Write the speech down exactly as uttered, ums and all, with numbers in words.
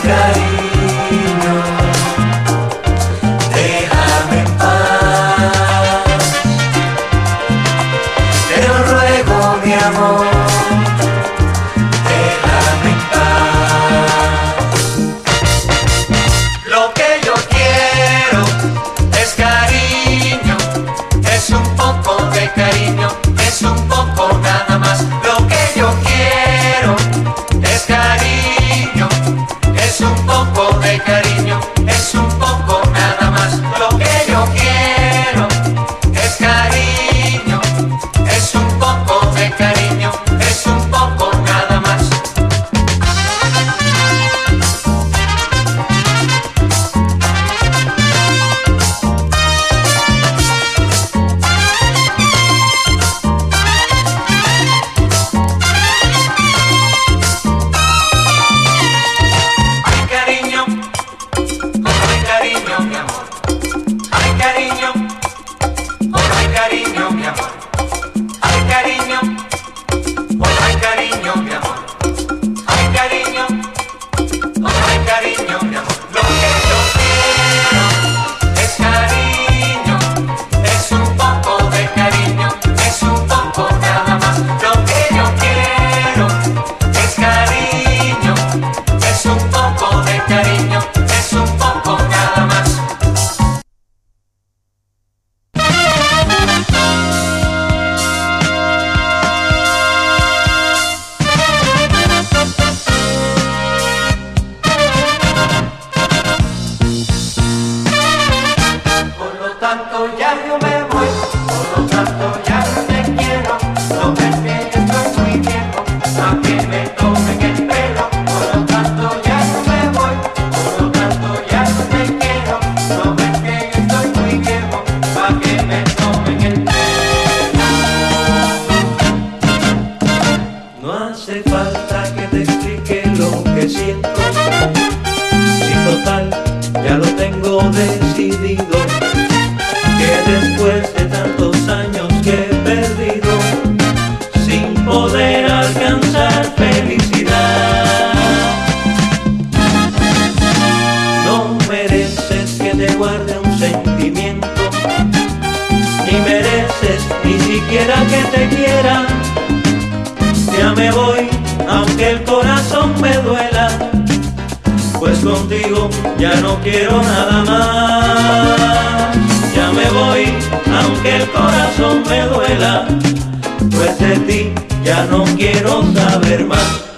cariño, déjame en paz. Te lo ruego, mi amor, déjame en paz. Lo que yo quiero es cariño, es un poco de cariño, es un poco nada más. Lo que yo quiero es cariño, es un poco de cariño, es un poco nada más. Lo que yo quiero es cariño, es un poco de cariño, es un poco nada más. Cariño, mi amor, ay cariño, oh ay cariño, mi amor, ay cariño, oh ay cariño, mi amor. Lo que yo quiero es cariño, es un poco de cariño, es un poco nada más. Lo que yo quiero es cariño, es un poco de cariño, es un poco nada más. Ya yo me voy, por lo tanto ya no te quiero. No ves que yo estoy muy viejo, a que me tomen el pelo. Por lo tanto ya no me voy, por lo tanto ya no te quiero. No ves que yo estoy muy viejo, a que me tomen el pelo. No hace falta que te explique lo que siento, si total ya lo tengo decidido, que después de tantos años que he perdido, sin poder alcanzar felicidad, no mereces que te guarde un sentimiento, ni mereces ni siquiera que te quiera. Ya me voy, aunque el corazón me duela, pues contigo ya no quiero nada más. Ya me voy, aunque el corazón me duela, pues de ti ya no quiero saber más.